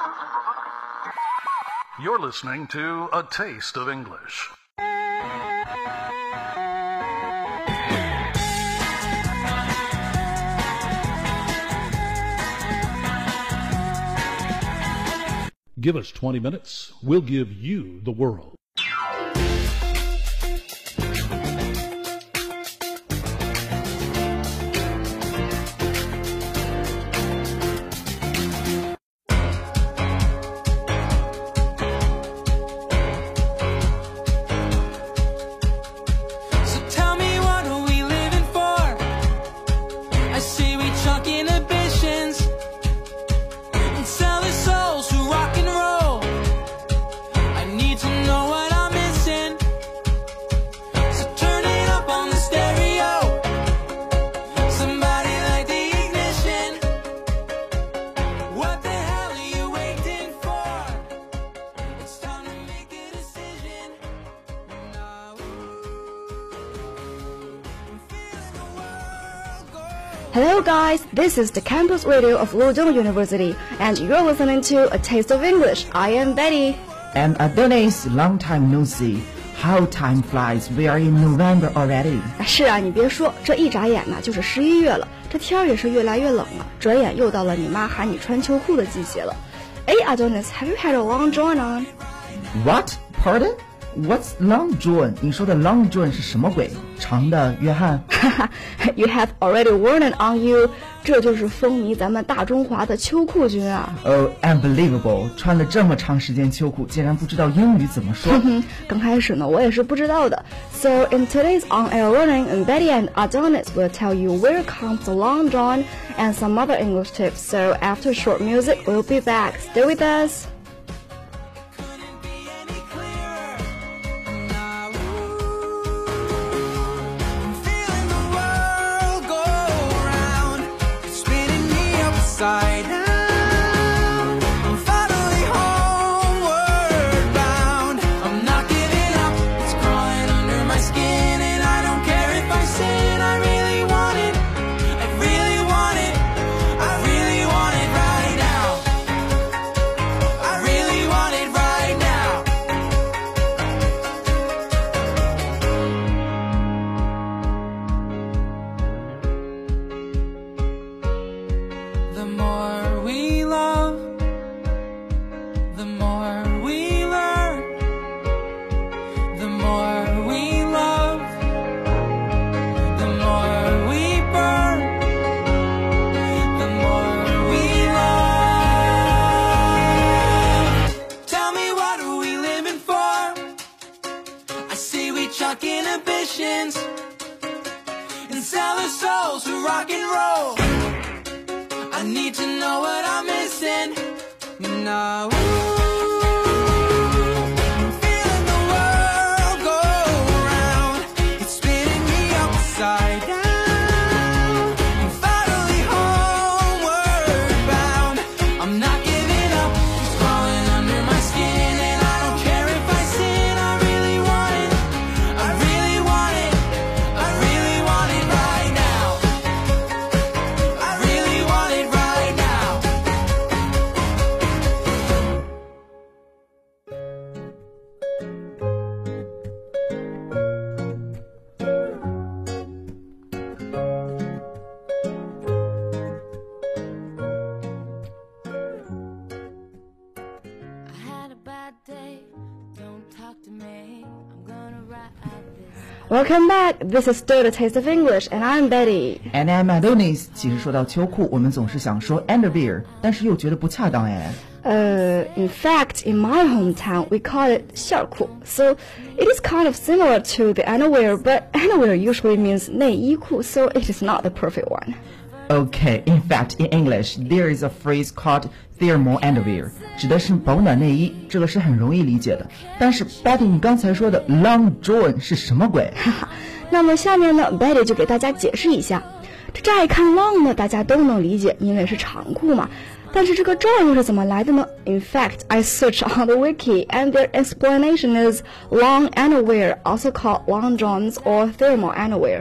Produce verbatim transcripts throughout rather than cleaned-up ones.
You're listening to A Taste of English. Give us twenty minutes, we'll give you the world. Hello guys, this is the campus radio of Luozhong University and you're listening to A Taste of English. I am Betty. And Adonis, long time no see. How time flies, we are in November already. 是啊，你别说，这一眨眼呢就是十一月了，这天儿也是越来越冷了，转眼又到了你妈喊你穿秋裤的季节了。哎 Adonis, have you had a long john on? What? Pardon? What's long john? 你说的 long john 是什么鬼？长的约翰 You have already worn it on you. 这就是风靡咱们大中华的秋裤君啊。 Oh, unbelievable. 穿了这么长时间秋裤，竟然不知道英语怎么说。 刚开始呢，我也是不知道的。So in today's on-air learning, Betty and Adonis will tell you where comes the long john and some other English tips. So after short music, we'll be back. Stay with us. Upside down, I'm finally homeward bound. I'm not giving up, it's crawling under my skin, and I don't care if I sin. I really want it, I really want it, I really want it right now. I really want it right now. The more we love, the more we learn. The more we love, the more we burn. The more we love. Tell me, what are we living for? I see we chuck inhibitions and sell our souls for rock and roll. I need to know what I'm missing now. I'm feeling the world go round. It's spinning me upside down. I'm finally homeward bound. I'm not giving up. It's crawling under my skin, and I don't care if I sin. I really want it. I really want it. I really want it right now. I really want it right now. I had a bad day, don't talk to me, I'm gonna write out this. Welcome back. This is still the Taste of English, and I'm Betty. And I'm Adonis. 其实说到秋裤，我们总是想说 underwear， 但是又觉得不恰当哎。 Uh, in fact, in my hometown, we call it 校裤. So it is kind of similar to the underwear, but underwear usually means 内衣裤, so it is not the perfect one. Okay, in fact, in English, there is a phrase called thermal underwear， 指的是保暖内衣，这个是很容易理解的。但是 Betty， 你刚才说的 long john 是什么鬼？ 那么下面呢 ，Betty 就给大家解释一下。这乍一看 long 呢，大家都能理解，因为是长裤嘛。但是这个 john 又是怎么来的呢 ？In fact, I searched on the wiki, and their explanation is long underwear, also called long johns or thermal underwear.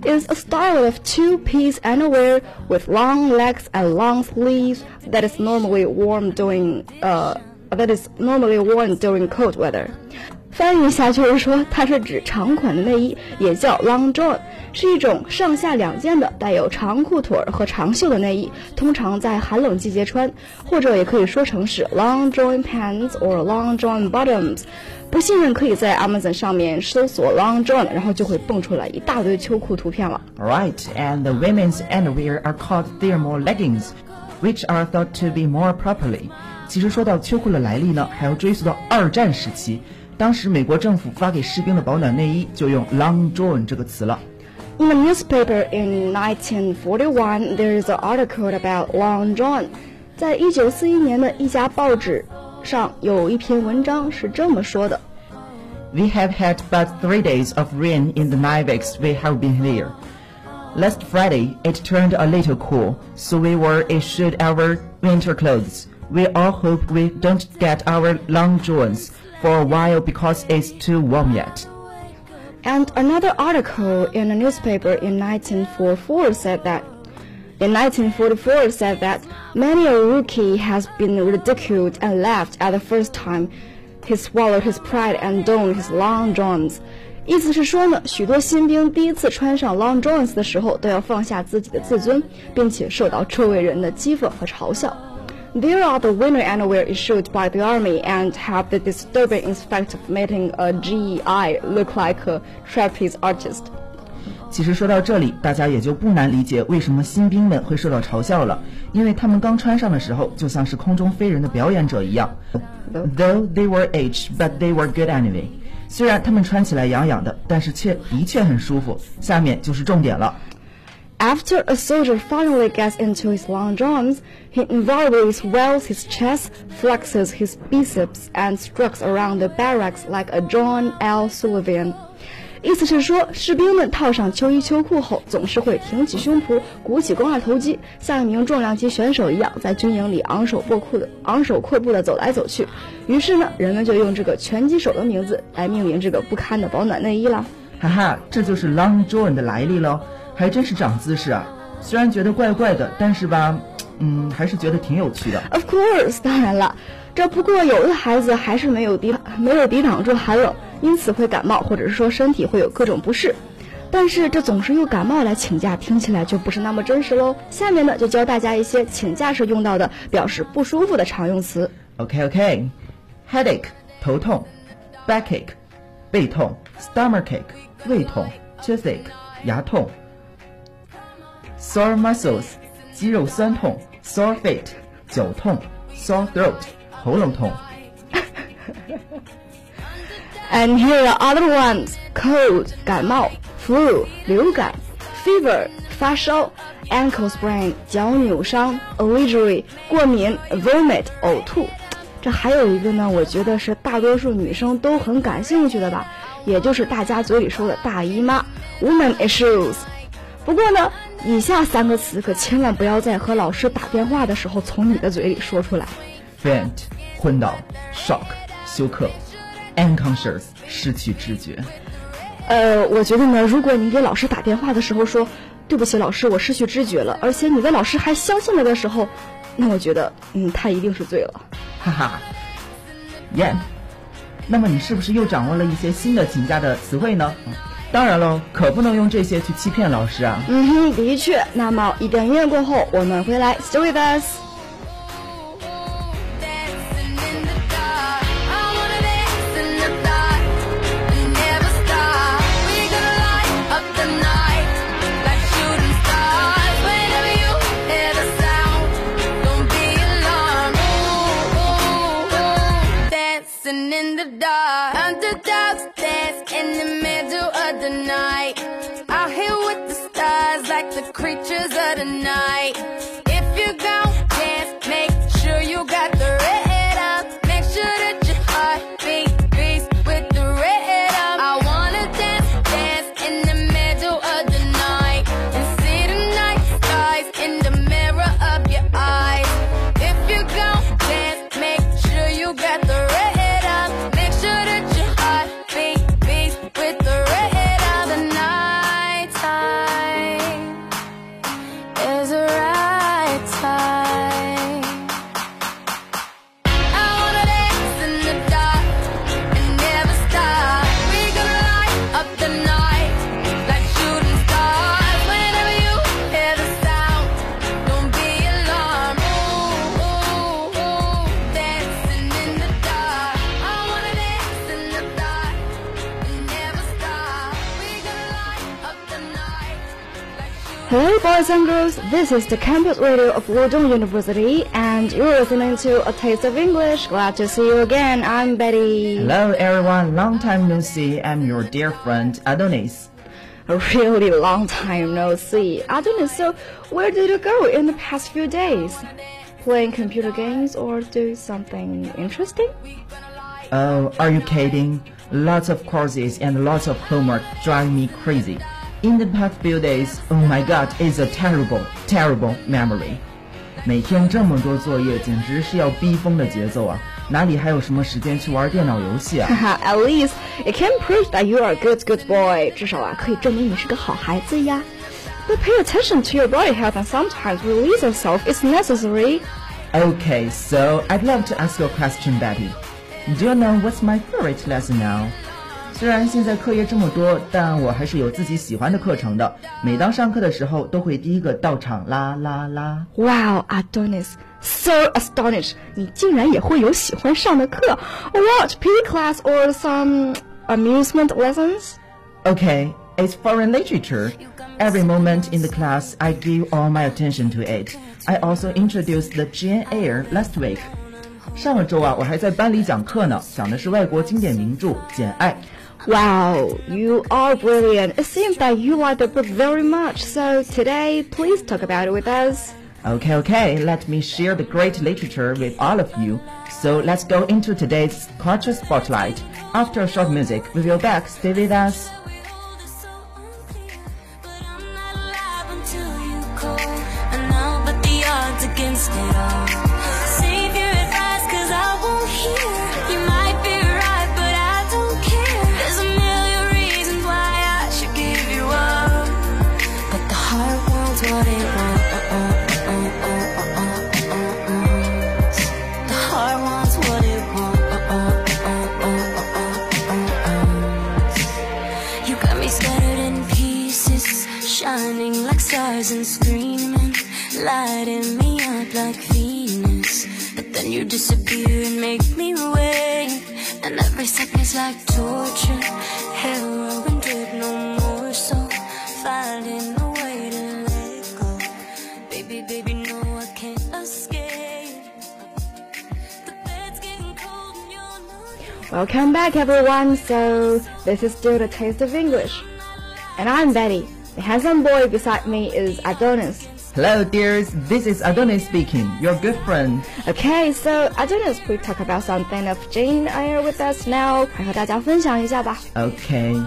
is a style of two-piece underwear with long legs and long sleeves that is normally worn during uh that is normally worn during cold weather. 翻译一下就是说，它是指长款的内衣，也叫 long john， 是一种上下两件的带有长裤腿和长袖的内衣，通常在寒冷季节穿，或者也可以说成是 long john pants or long john bottoms。不信任可以在 Amazon 上面搜索 long john， 然后就会蹦出来一大堆秋裤图片了。 Right, and the women's underwear are called thermal leggings, which are thought to be more properly. 其实说到秋裤的来历呢，还要追溯到二战时期。当时美国政府发给士兵的保暖内衣就用 long john 这个词了。 In a newspaper in nineteen forty-one, there is an article about long john. 在一九四一年的一家报纸上有一篇文章是这么说的 We have had but three days of rain in the nine weeks we have been here. Last Friday, it turned a little cool, so we were issued our winter clothes. We all hope we don't get our long johns for a while because it's too warm yet. And another article in a newspaper in nineteen forty-four said that in nineteen forty-four said that many a rookie has been ridiculed and laughed at the first time he swallowed his pride and donned his long johns. 意思是说呢，许多新兵第一次穿上 long johns 的时候，都要放下自己的自尊，并且受到周围人的讥讽和嘲笑。There are the winter underwear issued by the army and have the disturbing effect of making a G E I look like a trapeze artist. 其实说到这里，大家也就不难理解为什么新兵们会受到嘲笑了，因为他们刚穿上的时候就像是空中飞人的表演者一样。Though they were aged, but they were good anyway. 虽然他们穿起来痒痒的，但是却的确很舒服。下面就是重点了。 After a soldier finally gets into his long johns, he invariably swells his chest, flexes his biceps, and strikes around the barracks like a John L. Sullivan. 意思是说，士兵们套上秋衣秋裤后，总是会挺起胸脯，鼓起肱二头肌，像一名重量级选手一样，在军营里昂首阔步的昂首阔步的走来走去。于是呢，人们就用这个拳击手的名字来命名这个不堪的保暖内衣了。 哈哈，这就是 long john 的来历喽，还真是长姿势啊！虽然觉得怪怪的，但是吧，嗯，还是觉得挺有趣的。 Of course， 当然了，这不过有的孩子还是没有抵没有抵挡住寒冷，因此会感冒，或者是说身体会有各种不适。但是这总是用感冒来请假，听起来就不是那么真实喽。下面呢，就教大家一些请假时用到的表示不舒服的常用词。 OK OK， headache 头痛 ，backache 背痛 ，stomachache 胃痛 ，toothache 牙痛。Sore muscles 肌肉酸痛 ，sore feet 脚痛 ，sore throat 喉咙痛。 And here are other ones: cold 感冒 ，flu 流感 ，fever 发烧 ，ankle sprain 脚扭伤 ，allergy 过敏 ，vomit 呕吐。这还有一个呢，我觉得是大多数女生都很感兴趣的吧，也就是大家嘴里说的大姨妈 ，woman issues。不过呢，以下三个词可千万不要在和老师打电话的时候从你的嘴里说出来。 Faint 昏倒 ，shock 休克 ，unconscious 失去知觉。 呃，我觉得呢，如果你给老师打电话的时候说对不起老师，我失去知觉了，而且你的老师还相信了的时候，那我觉得，嗯，他一定是醉了。 哈哈 ，Yeah。那么你是不是又掌握了一些新的请假的词汇呢？当然喽，可不能用这些去欺骗老师啊。 嗯哼，的确。那么一段音乐过后，我们回来 ，Stay with us。 In the dark, underdogs dance in the middle of the night. Out here with the stars like the creatures of the night. If you gon' dance, make sure you got the rhythm. Make sure that your heart beat beats with the rhythm. I wanna dance, dance in the middle of the night and see the night skies in the mirror of your eyes. If you gon' dance, make sure you got the rhythm. With the rhythm, the nighttime Hello, boys and girls. This is the campus radio of Lodong University, and you're listening to A Taste of English. Glad to see you again. I'm Betty. Hello everyone, long time no see. I'm your dear friend Adonis. A really long time no see. Adonis, so where did you go in the past few days? Playing computer games or doing something interesting? Oh, are you kidding? Lots of courses and lots of homework drive me crazy. In the past few days, oh my god, it's a terrible, terrible memory. 每天这么多作业，简直是要逼疯的节奏啊！哪里还有什么时间去玩电脑游戏啊？ At least it can prove that you are a good, good boy. 至少啊，可以证明你是个好孩子呀。But pay attention to your body health and sometimes release yourself is necessary. Okay, so I'd love to ask you a question, Betty. Do you know what's my favorite lesson now? 虽然现在课业这么多，但我还是有自己喜欢的课程的。每当上课的时候，都会第一个到场啦啦啦。 Wow, Adonis, so astonished! 你竟然也会有喜欢上的课 What, P E class or some amusement lessons? Okay, it's foreign literature. Every moment in the class, I give all my attention to it. I also introduced the Jane Eyre last week. 上个周啊，我还在班里讲课呢，讲的是外国经典名著《简爱》。 Wow, you are brilliant. It seems that you like the book very much. So today, please talk about it with us. Okay, okay, let me share the great literature with all of you. So let's go into today's culture spotlight. After a short music, we will back. Stay with us. Against it all. Save your advice, cause I won't hear. You might be right, but I don't care. There's a million reasons why I should give you up, but the heart wants what it wants. The heart wants what it wants. You got me scattered in pieces, shining like stars and screaming, lighting me up like Venus. But then you disappear and make me wait, and every second's like torture. Heroin did no more, so finding a way to let go. Baby, baby, no, I can't escape. The bed's getting cold and you're not. Welcome back, everyone. So this is still the Taste of English, and I'm Betty. The handsome boy beside me is Adonis. Hello, dears. This is Adonis speaking, your good friend. Okay, so Adonis, we talk about something of Jane Eyre with us now. 快和大家分享一下吧。 Okay.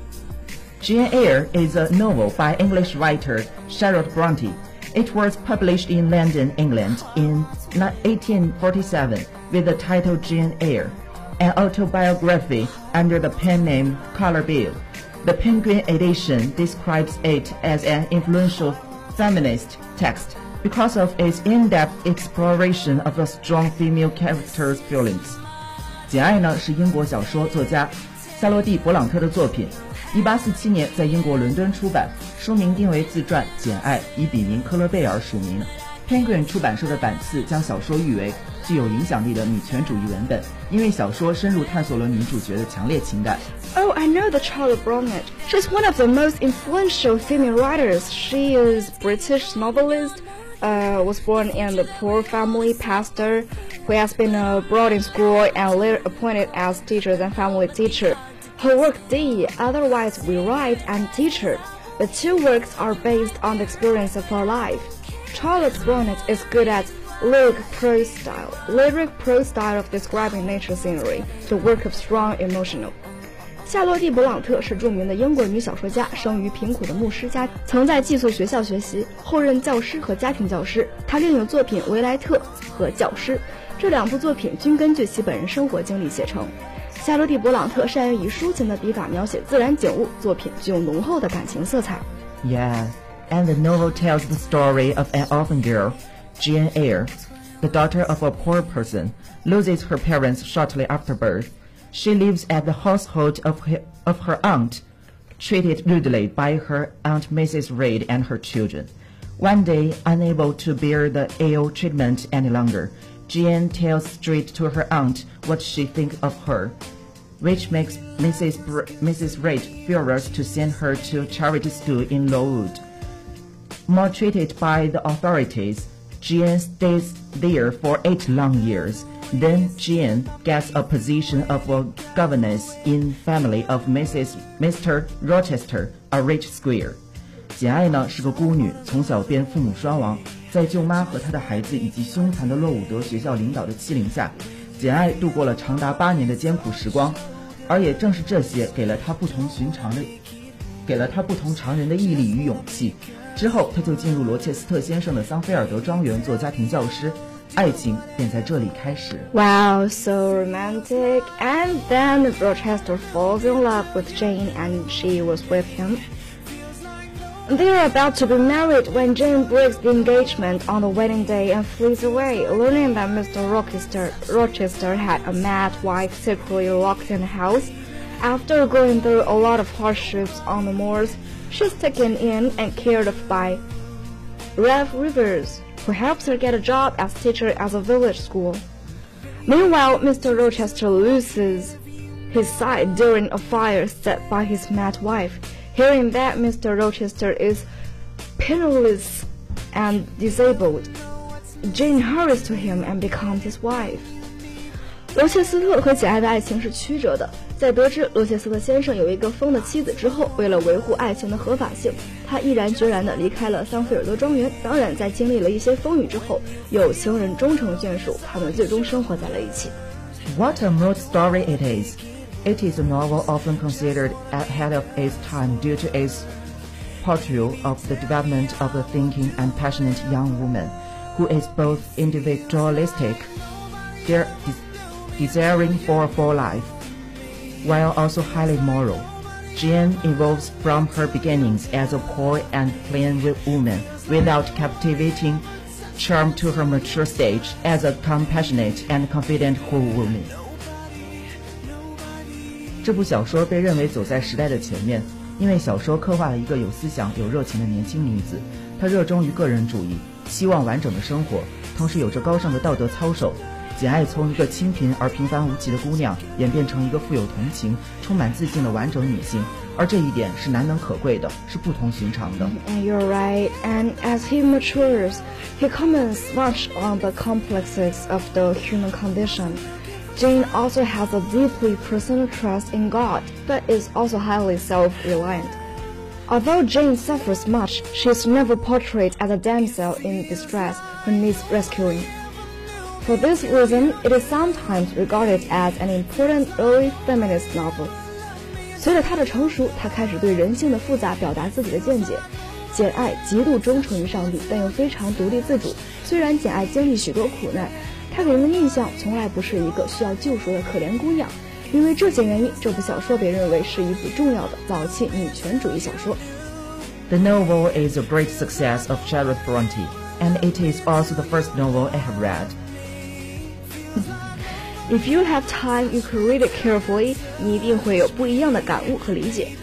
Jane Eyre is a novel by English writer Charlotte Bronte. It was published in London, England in eighteen forty-seven with the title Jane Eyre, an autobiography under the pen name Colour Bill. The Penguin edition describes it as an influential feminist text because of its in-depth exploration of a strong female character's feelings. 简爱呢是英国小说作家夏洛蒂·勃朗特的作品，一八四七年在英国伦敦出版，书名定为自传《简爱》，以笔名科勒贝尔署名。Penguin 出版社的版次将小说誉为具有影响力的女权主义文本，因为小说深入探索了女主角的强烈情感。 Oh, I know the Charlotte Bronte. She's one of the most influential female writers. She is British novelist, uh, was born in a poor family pastor who has been uh, brought in school and later appointed as teacher and family teacher. Her work D, otherwise We Write and Teacher. The two works are based on the experience of her life. Charlotte Bronte is good at lyric prose style, lyric prose style of describing nature scenery, the work of strong emotional. 夏洛蒂·勃朗特是著名的英国女小说家，生于贫苦的牧师家，曾在寄宿学校学习，后任教师和家庭教师。她另有作品《维莱特》和《教师》，这两部作品均根据其本人生活经历写成。夏洛蒂·勃朗特善于以抒情的笔法描写自然景物，作品具有浓厚的感情色彩。 Yeah, and the novel tells the story of an orphan girl, Jane Eyre. The daughter of a poor person loses her parents shortly after birth. She lives at the household of her, of her aunt, treated rudely by her aunt Missus Reed and her children. One day, unable to bear the ill treatment any longer, Jane tells straight to her aunt what she thinks of her, which makes Missus Br- Missus Reed furious to send her to charity school in Lowood. Maltreated by the authorities, Jean stays there for eight long years. Then Jean gets a position of a governess in family of Missus Mister Rochester, a rich squire. 简爱呢是个孤女，从小便父母双亡，在舅妈和她的孩子以及凶残的洛伍德学校领导的欺凌下，简爱度过了长达八年的艰苦时光。而也正是这些给了她不同寻常的给了她不同常人的毅力与勇气。之后她就进入罗切斯特先生的桑菲尔德庄园做家庭教师，爱情便在这里开始。 Wow, so romantic. And then Rochester falls in love with Jane and she was with him. They are about to be married when Jane breaks the engagement on the wedding day and flees away, learning that Mister Rochester, Rochester had a mad wife secretly locked in the house. After going through a lot of hardships on the moors, she's taken in and cared for by Ralph Rivers, who helps her get a job as teacher at a village school. Meanwhile, Mister Rochester loses his sight during a fire set by his mad wife. Hearing that Mister Rochester is penniless and disabled, Jane hurries to him and becomes his wife. 罗切斯特和简爱的爱情是曲折的。在得知罗切斯特先生有一个疯的妻子之后，为了维护爱情的合法性，他毅然决然地离开了桑菲尔德庄园。当然，在经历了一些风雨之后，有情人终成眷属，他们最终生活在了一起。 What a mood story it is! It is a novel often considered ahead of its time due to its portrayal of the development of a thinking and passionate young woman who is both individualistic, de desiring for a full life, while also highly moral. Jane evolves from her beginnings as a poor and plain woman without captivating charm to her mature stage as a compassionate and confident whole woman. 这部小说被认为走在时代的前面，因为小说刻画了一个有思想、有热情的年轻女子。她热衷于个人主义，希望完整的生活，同时有着高尚的道德操守。简爱从一个清贫而平凡无奇的姑娘，演变成一个富有同情、充满自信的完整女性，而这一点是难能可贵的，是不同寻常的。 And you're right. And as he matures, he comments much on the complexes of the human condition. Jane also has a deeply personal trust in God, but is also highly self-reliant. Although Jane suffers much, she is never portrayed as a damsel in distress who needs rescuing. For this reason, it is sometimes regarded as an important early feminist novel. 随着她的成熟，她开始对人性的复杂表达自己的见解。简爱极度忠诚于上帝，但又非常独立自主。虽然简爱经历许多苦难，她给人的印象从来不是一个需要救赎的可怜姑娘。因为这些原因，这部小说被认为是一部重要的早期女权主义小说。 The novel is a great success of Charlotte Bronte, and it is also the first novel I have read. If you have time, you can read it carefully. 你一定会有不一样的感悟和理解。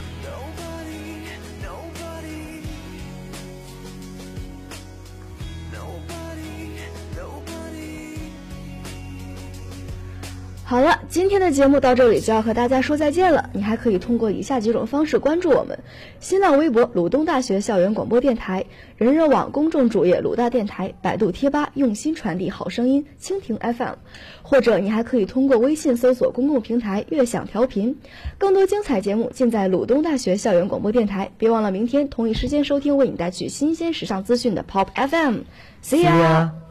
好了，今天的节目到这里就要和大家说再见了。你还可以通过以下几种方式关注我们：新浪微博鲁东大学校园广播电台、人人网公众主页鲁大电台、百度贴吧用心传递好声音、蜻蜓 F M， 或者你还可以通过微信搜索公共平台悦享调频。更多精彩节目尽在鲁东大学校园广播电台。别忘了明天同一时间收听为你带去新鲜时尚资讯的 Pop F M。See ya。